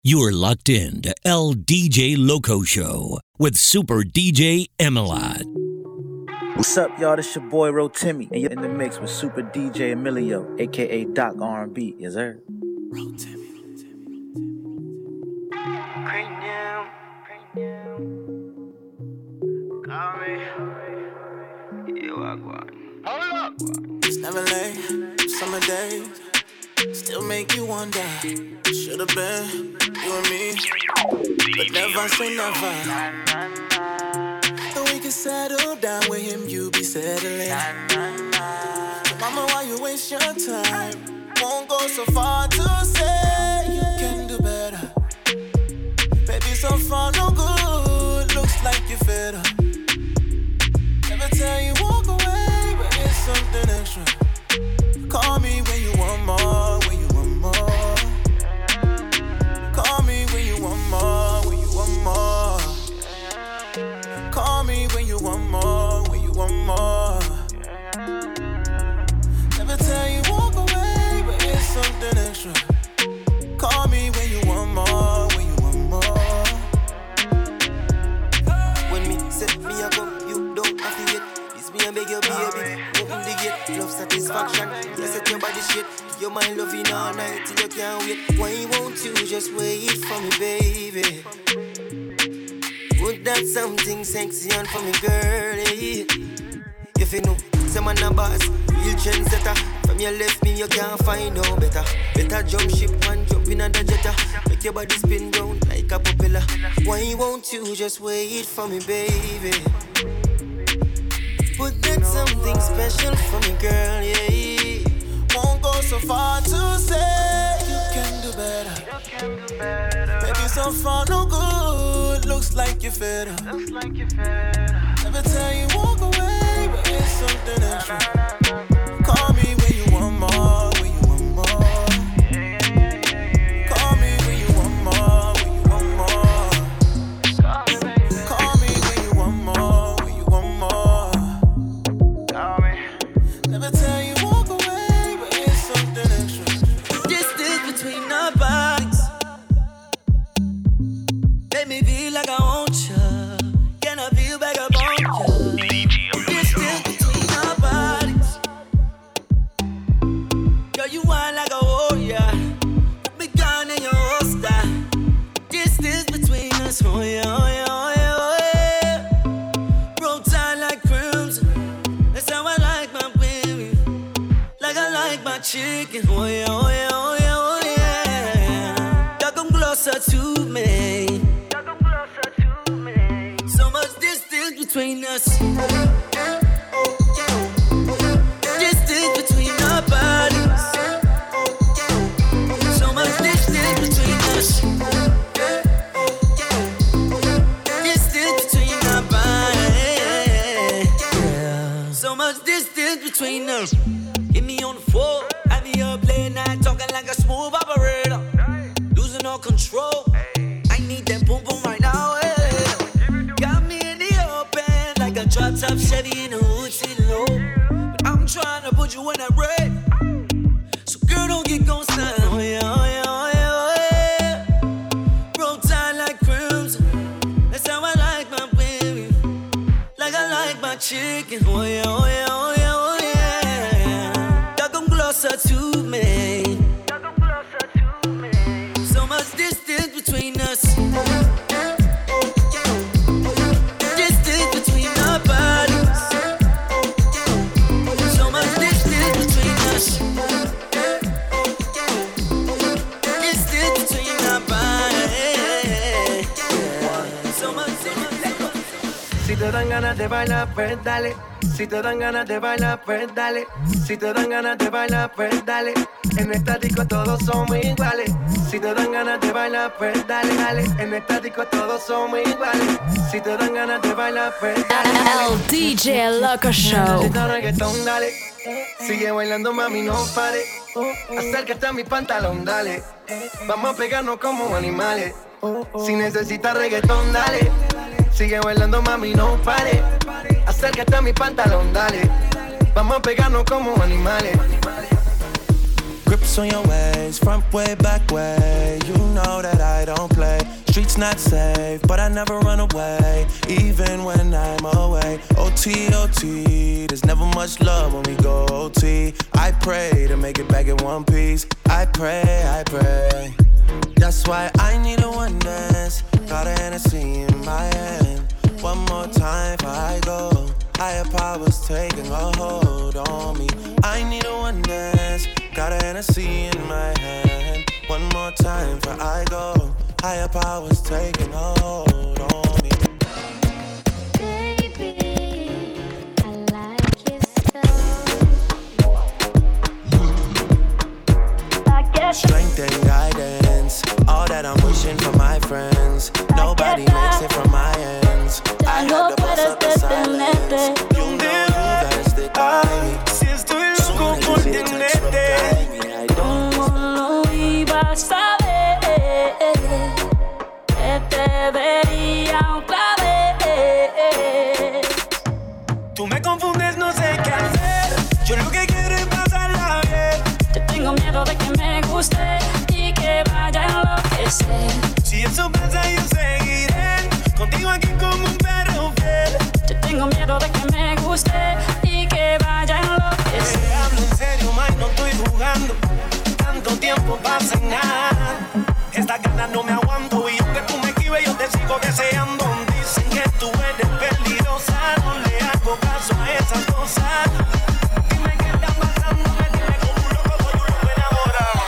You're locked in to El DJ Loco Show with Super DJ Emilot. What's up, y'all? This your boy Rotimi, and you're in the mix with Super DJ Emilio, aka Doc R&B. Yes, sir. Rotimi. Hold up. It's never late, summer days still make you wonder. Should've been you and me, but never say never. And we can settle down with him, you be settling. So mama, why you waste your time? Won't go so far to say you can do better. Baby, so far no good, looks like you're fed up. Never tell you walk away, but it's something extra. Call me when you want more, when you want more. Call me when you want more, when you want more. Call me when you want more, when you want more. Never tell you walk away, but it's something extra. Call me when you want more, when you want more. When me set me up, you don't have to yet. This me and beg your baby, open the gate. Love satisfaction, you set your body shit. You're my loving all night till you can't wait. Why won't you just wait for me, baby? Put that something sexy on for me, girlie. If you know, some man a boss, real trendsetter. From your left me, you can't find no better. Better jump ship and jump in on the jetta. Make your body spin round like a propeller. Why won't you just wait for me, baby? Put that something special for me, girl, yeah. Won't go so far to say you can do better. Baby, so far no good, looks like you're fed up. Never tell you walk away, but it's something extra. Call me when you want more, when you want more. Call me when you want more, when you want more. Call me when you want more, when you want more. Never tell you walk away, but it's something extra. Distance between our bodies make me feel like I want you. Can I feel back up on you? Distance between our bodies. Girl, you want like a warrior. Put me down in your holster. Distance between us, oh yeah, oh yeah, oh yeah, oh yeah. Roll tight like crimson. That's how I like my baby. Like I like my chicken, oh yeah, oh yeah, oh yeah, oh yeah. Y'all come closer to me. So much distance between us. Distance between our bodies. So much distance between us. Distance between our bodies. So much distance between us. Get me on the floor, have me up late night talking like a smooth operator. Losing all control. I need that boom boom right now. Got me in the open like a drop top Chevy in the hood sitting low. But I'm trying to put you in that red. So girl, don't get gon' style. Oh yeah, oh yeah, oh yeah, oh yeah. Roll tight like crimson. That's how I like my baby. Like I like my chicken. Oh yeah, oh yeah, oh yeah, oh yeah. Y'all come closer to me. So much distance between us. Distance between our bodies. So much distance between us. Distance between our bodies. So much. Si te dan ganas de bailar, pues dale. Si te dan ganas de bailar, pues dale. Si te dan ganas de bailar, pues dale. En esta disco todos somos iguales. Si te dan ganas de bailar, pues dale, dale. En esta disco todos somos iguales. Si te dan ganas de bailar, pues dale, dale. El DJ Loco Show. Si te reggaetón, dale. Sigue bailando, mami, no pare. Acércate a mi pantalón, dale. Vamos a pegarnos como animales. Si necesitas reggaetón, dale. Sigue bailando, mami, no pare. Acércate a mi pantalón, dale. Vamos a pegarnos como animales. Grips on your waist, front way, back way. You know that I don't play. Streets not safe, but I never run away, even when I'm away. OT, OT, there's never much love when we go OT. I pray to make it back in one piece. I pray, I pray. That's why I need a one dance. Got a Hennessy in my hand. One more time before I go. Higher powers taking a hold on me. I need a one dance. Got a Hennessy in my hand. One more time before I go. Higher powers taking a hold on me. Baby, I like your stuff. Strength and guidance, all that I'm wishing for my friends. Nobody makes it from my ends. I had to bust up the silence. You know you gotta stick by me. Si estoy loco por tenerte, ¿Cómo lo ibas a ver? Que te vería otra vez. tú me confundes, no sé qué hacer. Yo lo que quiero es pasarla bien. Yo tengo miedo de que me guste y que vaya a enloquecer. Si eso pasa, yo seguiré contigo aquí como un perro fiel. Yo tengo miedo de que me guste y que vaya a enloquecer. Te hablo en serio, Mike, no estoy jugando. Tanto tiempo pasa en nada. Estas ganas no me aguanto y aunque tú me esquives, yo te sigo deseando. Dicen que tú eres peligrosa, no le hago caso a esas cosas. Dime qué está pasando, me tiene como un loco, soy un loco enamorado.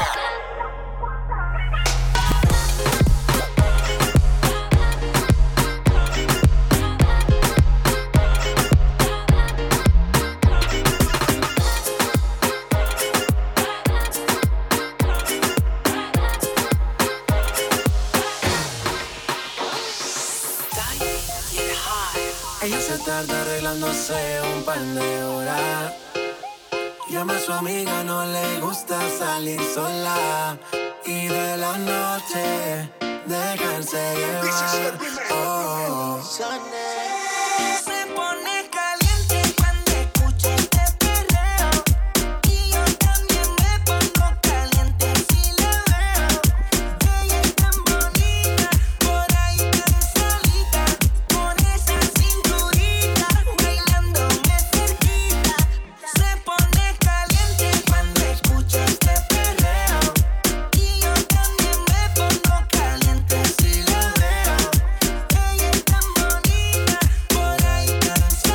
Ella se tarda arreglándose un par de horas. Llama a su amiga, no le gusta salir sola. Y de la noche dejarse llevar. Oh. Se pone caliente cuando escucha este perreo. Y yo también me pongo caliente si la veo. Ella es tan bonita, por ahí tan solita. Con esa cinturita, bailándome cerquita. Se pone caliente cuando escucha este perreo. Y yo también me pongo caliente si la veo. Ella es tan bonita, por ahí tan solita.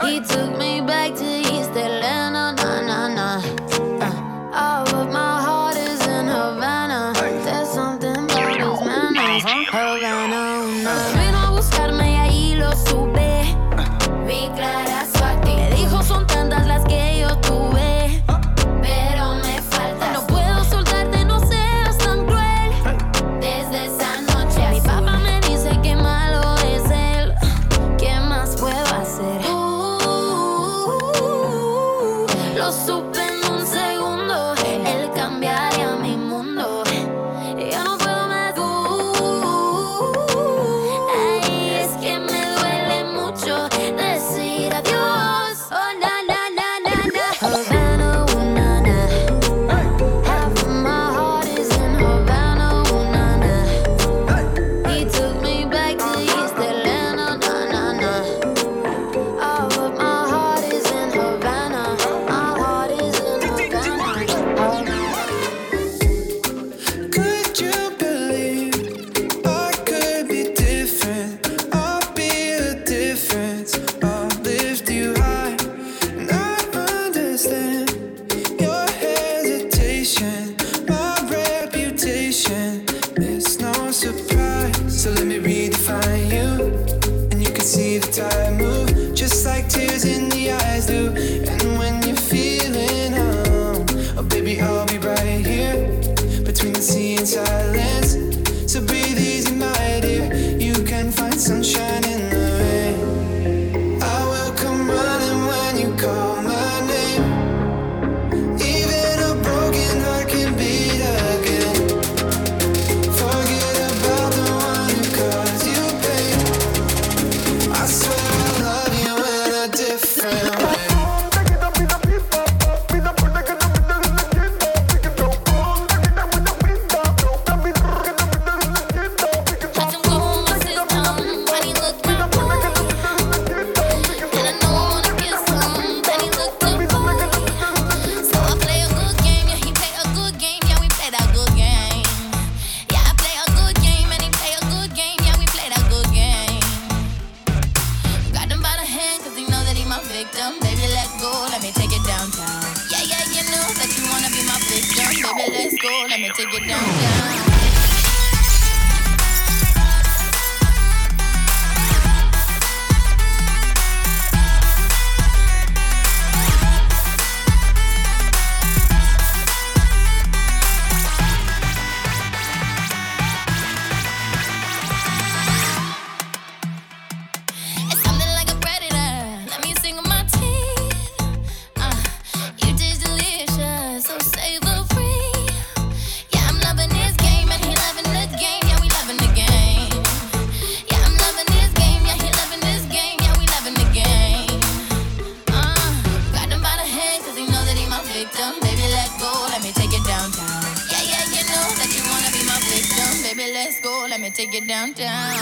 He took me back to East Atlanta, nah. All of my heart is in Havana. There's something about his manners. Havana, una. Buscarme y ahí lo supe. Vi clara su actitud. Me dijo son tantas las que yo tuve, pero me falta. No puedo soltarte, no seas tan cruel. Desde esa noche mi papá me dice que malo es él. ¿Qué más puedo hacer? Lo supe en un segundo. Él cambiaría mi mundo. Yo no puedo más. Ay, es que me duele mucho decir adiós. Oh, na, na, na, na, na. Havana, ooh, na, na. Half of my heart is in Havana, ooh, na, na. He took me back to East Atlanta, na, na, na. All of my heart is in Havana. My heart is in Havana. Could you believe I could be different? I'll be a difference. I'll lift you high, and I understand your hesitation, my reputation. It's no surprise. So let me redefine you, and you can see the tide move, just like tears in the eyes do. And when you're feeling oh baby, I'll be right here between the sea and silence. So breathe easy, my dear. You can find sunshine in the rain. I will come running when you call my name. Even a broken heart can beat again. Forget about the one who caused you pain. I swear I love you in a different way. Baby, let's go, let me take it downtown. Yeah, you know that you wanna be my victim. Baby, let's go, let me take it downtown. It's something like a predator. Let me sing with my teeth. You taste delicious, so savor free. Yeah, I'm loving this game and he loving the game. Yeah, we loving the game. Yeah, I'm loving this game. Yeah, he loving this game. Yeah, we loving the game. Got him by the hand 'cause he know that he my victim. Baby, let's go, let me take it downtown. Yeah, you know that you wanna be my victim. Baby, let's go, let me take it downtown.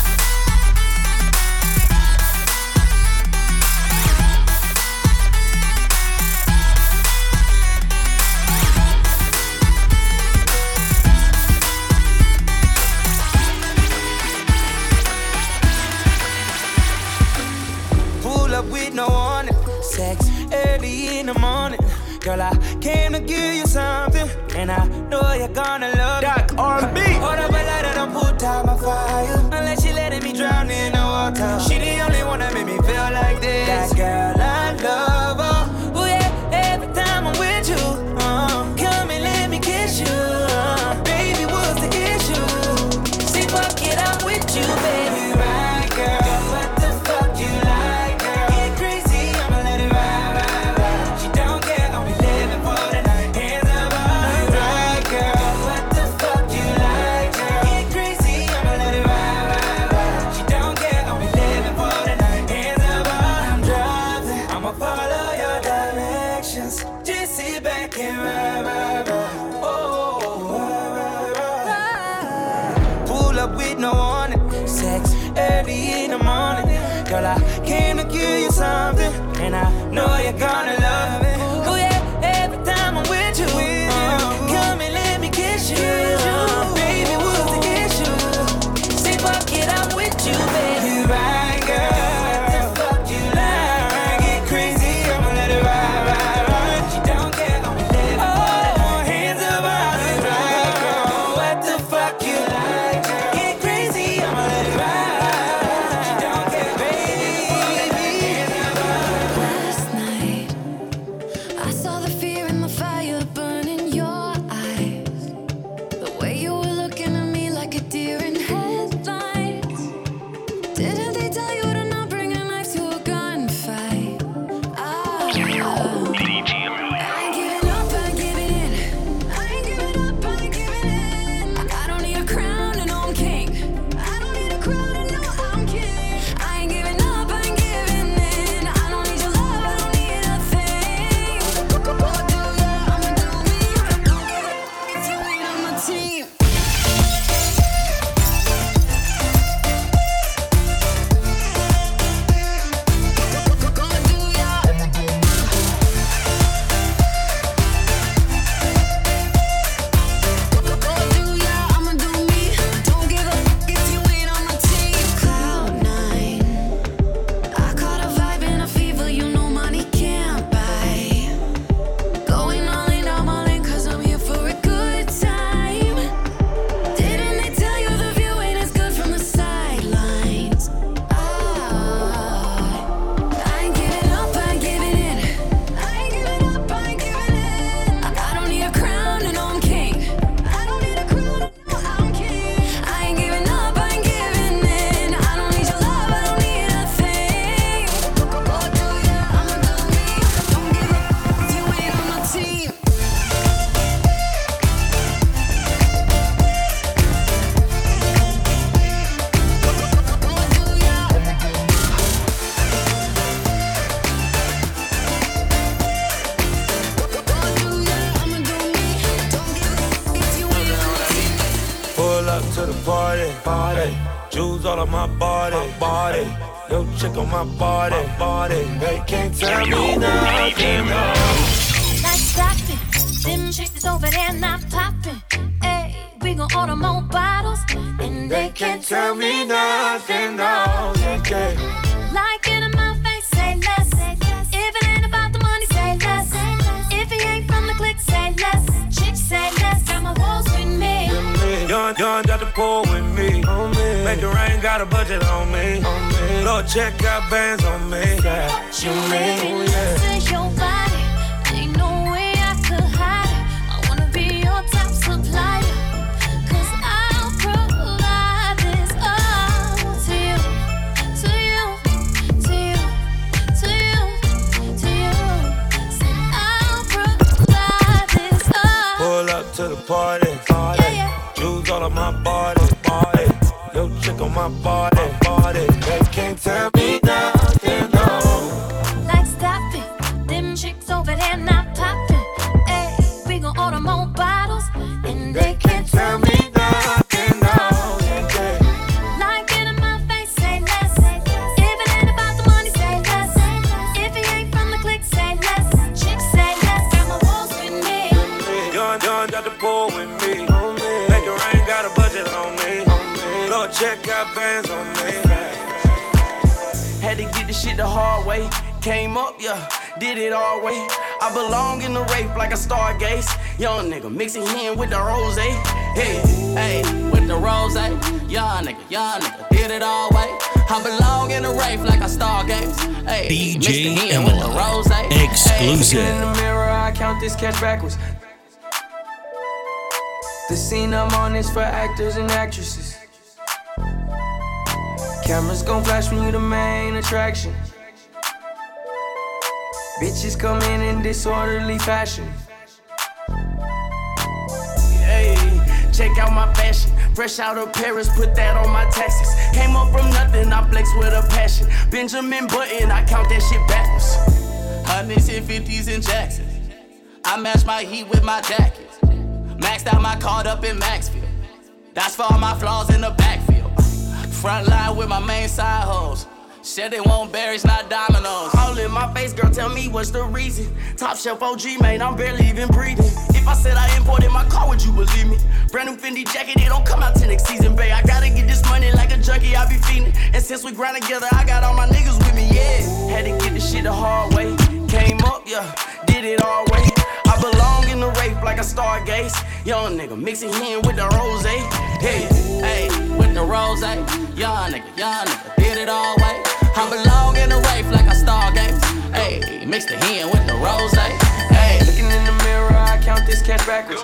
Pull up with no warning. Sex early in the morning. Girl, I came to give you something, and I know you're gonna love it. R&B. Hold up a lighter, don't put out my fire. Unless she letting me drown in the water. She the only one that made me feel like this. That girl, I love her. Oh yeah, every time I'm with you. Come and let me kiss you. Baby, what's the issue? See, fuck it, I'm with you, baby. Right, girl. What the fuck you like, girl? Get crazy, I'ma let it ride. She don't care, only living for the night. Hands up, right, girl. What the fuck you like, girl? Get crazy, I'ma let it ride. She don't care, only living for the night. Hands up, I'm driving. I'ma follow your directions. Just sit back and ride. Oh, ride. Pull up with no warning. Sex early in the morning. Girl, I came to give you something, and I know you're gonna love it. Oh yeah, every time I'm with you. Come and let me kiss you. Baby, what's the issue? See, fuck it, I'm with you, baby. You right, girl. What the fuck you like? body. Jewels all on my body, body. Yo, chick on my body, body. They can't tell me nothing, no. Like stop it, them chicks over there not popping. Hey, we gon' order more bottles, and they can't tell me nothing, no. Like it in my face, say less. If it ain't about the money, say less. If it ain't from the clique, say less. Chicks say less, got my walls with me. Young got the pool with me. Make it rain, got a budget on me. Lord, check out bands on me. You baby, this is your body. Ain't no way I could hide it. I wanna be your top supplier. Cause I'll provide this all to you. To you, to you, to you, to you. Say I'll provide this all. Pull up to the party, party. Yeah, yeah. Jewels all on my body, body. Yo, chick on my body, body. They can't tell me nothing, no. Like stop it, them chicks over there not popping. Hey, we gon' order more bottles, and they can't tell me nothing, no. like it in my face, say less. If it ain't about the money, say less. If it ain't from the clique, say less. Chicks say less, got my walls with me. Young got the pool with me. Make it rain, got a budget on me. Lord, check out bands on me. Had to get this shit the hard way. Came up, yeah, did it all way. I belong in the rape like a stargaze. Young nigga mixing hen with the rose. Hey, hey, with the rose. Young nigga, did it all way. I belong in the rape like a stargaze. Hey, DJ hen with the rose. Exclusive. In the mirror, I count this cash backwards. The scene I'm on is for actors and actresses. Cameras gon' flash when you the main attraction. Bitches come in disorderly fashion. Hey, check out my fashion. Fresh out of Paris, put that on my taxes. Came up from nothing, I flex with a passion. Benjamin Button, I count that shit backwards. 100s and 50s in Jackson. I match my heat with my jackets. Maxed out my card up in Maxfield. That's for all my flaws in the backfield. Front line with my main side hoes. Shit, they won't berries, not dominoes. All in my face, girl, tell me what's the reason. Top shelf OG, man, I'm barely even breathing. If I said I imported my car, would you believe me? Brand new Fendi jacket, it don't come out till next season, babe. I gotta get this money like a junkie, I be feeding. And since we grind together, I got all my niggas with me, yeah. Had to get this shit the hard way. Came up, yeah, did it all way. I belong in the rape like a stargaze. Young nigga mixing hen with the rose. Hey, hey, with the rose. Young nigga, did it all way. I belong in the rape like a stargaze. Hey, mix the hen with the rose. Hey, looking in the mirror, I count this cash backwards.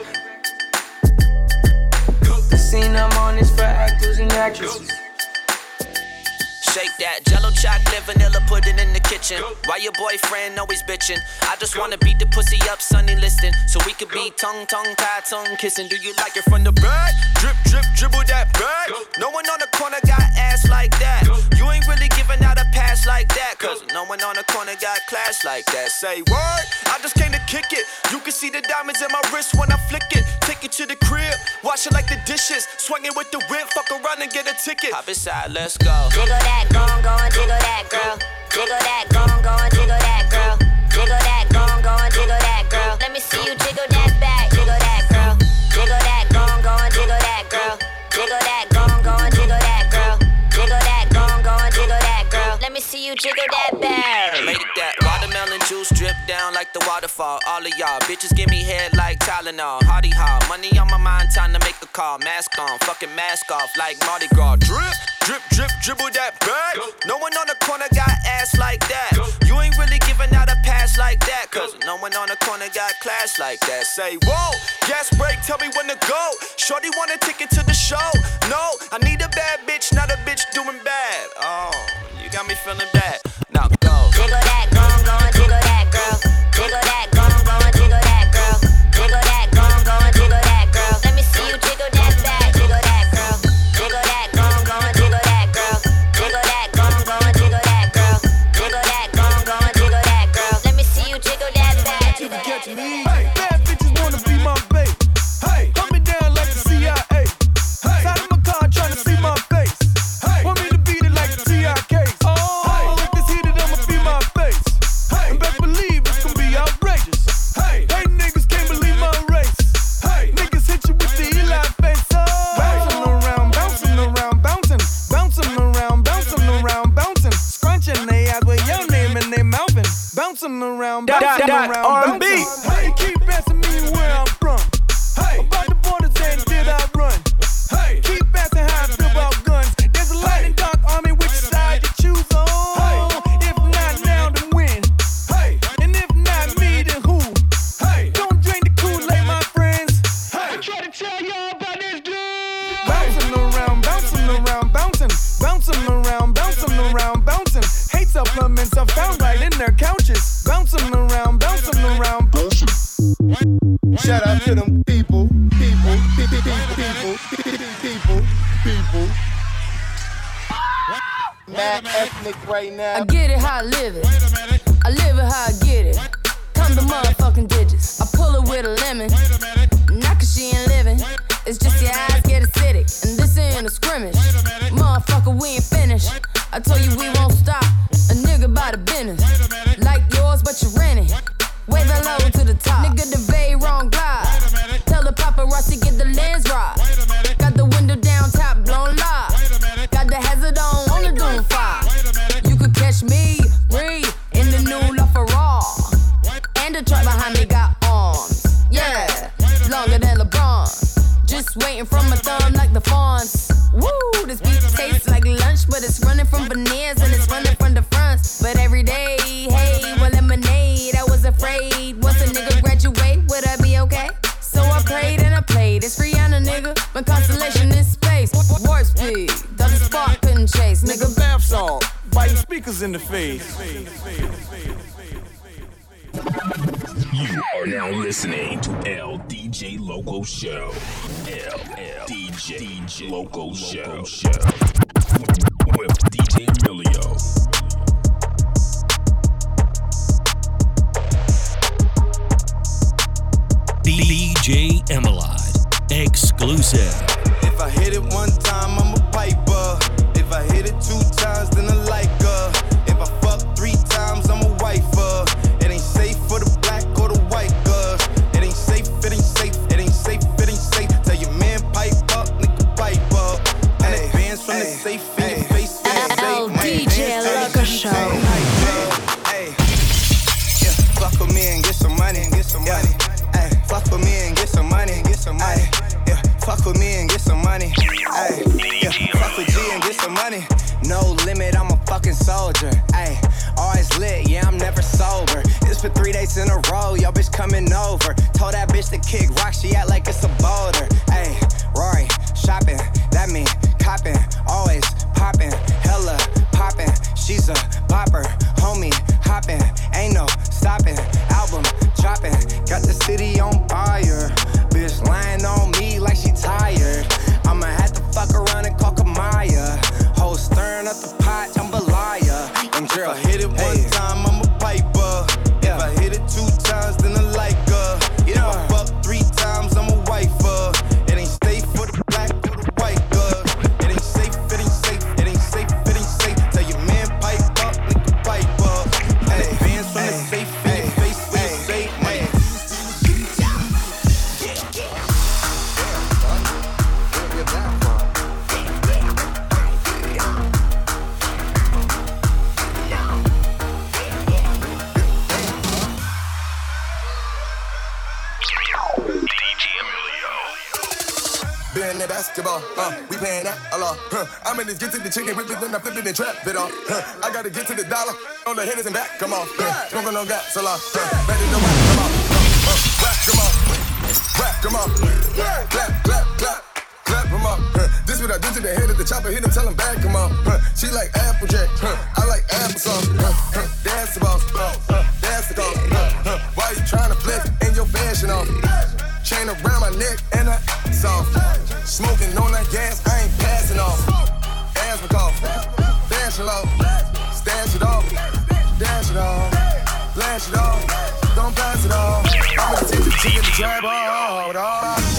The scene I'm on is for actors and actresses. Shake that Jello chocolate, vanilla pudding in the kitchen. Why your boyfriend always bitching? I just wanna beat the pussy up, Sunny listing, so we could be tongue tied, tongue kissing. Do you like it from the back? Drip, drip, dribble that back. No one on the corner got ass like that. You ain't really giving out a pass like that, cause no one on the corner got class like that. Say word, I just came to kick it. You can see the diamonds in my wrist when I flick it. Take it to the crib, wash it like the dishes. Swing it with the whip, fuck around and get a ticket. Hop inside, let's go. Jiggle that, go and jiggle that, girl. Jiggle that, go and jiggle that, girl. Jiggle that, go and jiggle that, girl. Let me see you jiggle that back, jiggle that, girl. Jiggle that, go and jiggle that, girl. Jiggle that, go and jiggle that, girl. Jiggle that, go and jiggle that, girl. Let me see you jiggle that back. Make that watermelon juice drip down like the waterfall. All of y'all bitches give me head like Tylenol. Hardy ha, money on my mind, time to make a call. Mask on, fucking mask off like Mardi Gras. Drip, drip, drip, dribble that back. No one on the corner got ass like that. You ain't really giving out a pass like that, cause no one on the corner got class like that. Say whoa, gas break, tell me when to go. Shorty want a ticket to the show. No, I need a bad bitch, not a bitch doing bad. Oh, you got me feeling bad. Now go. Jiggle that, go and jiggle that, girl. Jiggle that, go and jiggle that, girl. Jiggle that, go and jiggle that, girl. Let me see you jiggle that back, jiggle that, girl. Jiggle that, go and jiggle that, girl. Jiggle that, go and jiggle that, girl. Jiggle that, go and jiggle that, girl. Let me see you jiggle that back. You can catch me. Hey, bad bitches wanna be my babe. Hey, hold me down like the CIA. Hey, side of my car trying to see bouncing around, bouncing around, R&B. Hey, keep asking me where I'm from. Hey, about the borders and did I run? Hey, keep asking how I feel about guns. There's a light and dark army, which side you choose on? Hey, if not now, then when? Hey, and if not me, then who? Hey, don't drink the Kool-Aid, my friends. Hey, I try to tell y'all about this dude. Bouncing around, bouncing around, bouncing, bouncing around, bouncing around, bouncing. Hate supplements are found right in their couches. Bouncing around, bouncing around, bouncing. Shout out to them people. Mad ethnic right now. I get it how I live it. I live it how I get it. Come the motherfucking digits. I pull it with a lemon. Not cause she ain't living. It's just your eyes get acidic. And this ain't a scrimmage. Motherfucker, we ain't finished. I told you we won't stop. A nigga by the business. Like yours, but you rent it. Way the low to the top. Nigga, the very wrong glide. Tell the paparazzi get the lens right. Got the window down, top blown live. Got the hazard on the Doom 5. You could catch me, breathe, in the new LaFerrari. And the truck behind me got arms. Yeah, longer than LeBron. Just waiting from my thumb like the fawns. Woo, this beat tastes like lunch, but it's running from veneers and it's running from the fronts. But every day, hey, well, lemonade, I was afraid. Once a nigga graduate, would I be okay? So I prayed and I played. It's Rihanna, nigga. My constellation is space. Warp speed, though the spark couldn't chase. Nigga, bath salt, biting speakers in the face. You are now listening to LDJ Loco Show. LDJ Loco Show. With DJ Emilio. DJ Emilio, exclusive. If I hit it one time, I'm a piper. If I hit it 2 times, then I like her. If I fuck 3 times, I'm a wifer. It ain't safe for the black or the white girl. It ain't safe, it ain't safe, it ain't safe, it ain't safe. Tell your man pipe up, nigga pipe up. And advance from the safe in your face. DJ Loco Show. Hey, yeah, fuck with me and get some money, Ay, fuck with me and get some money, Ay, yeah, fuck with me and get some money. Ay, yeah, fuck with G and get some money. No limit, I'm a fucking soldier. Ay, always lit, yeah, I'm never sober. It's for 3 days in a row, yo bitch coming over. Told that bitch to kick rock, she act like it's a boulder. Ay, Rory, shopping, that mean copping, always popping, hella popping. She's a popper, homie, hopping, ain't no stopping. Album dropping, got the city on fire. Bitch lying on me like she tired. I'ma have to fuck around and call Kamaya. Whole stirring up the pot, jambalaya. And girl, if I hit it one time, I'm a piper. If I hit it 2 times, then I like her. If I fuck 3 times, I'm a wifer. It ain't safe for the black or the white girl. It ain't safe, it ain't safe, it ain't safe, it ain't safe. Tell your man pipe up, nigga pipe up. And advance from the safe in your face when you say money. Being that basketball, we paying that a lot. I'm in this get to the chicken whip it, then I flip it and trap it off. I gotta get to the dollar on the hitters and back, come on. Smoking on gas a lot. Better know whack, come on. Whack, come on. Whack, come on. Clap, clap, clap. Clap them up. This what I do to the head of the chopper, hit him, tell him back, come on. She like Applejack, I like applesauce. That's the boss, that's the cause. Why you trying to flex in your fashion off? Chain around my neck and I soft. Smoking on that gas, I ain't passing off. Asthma cough, dash it off, stash it off, dash it off, flash it off, don't pass it off. I'm gonna teach you to get the drive off.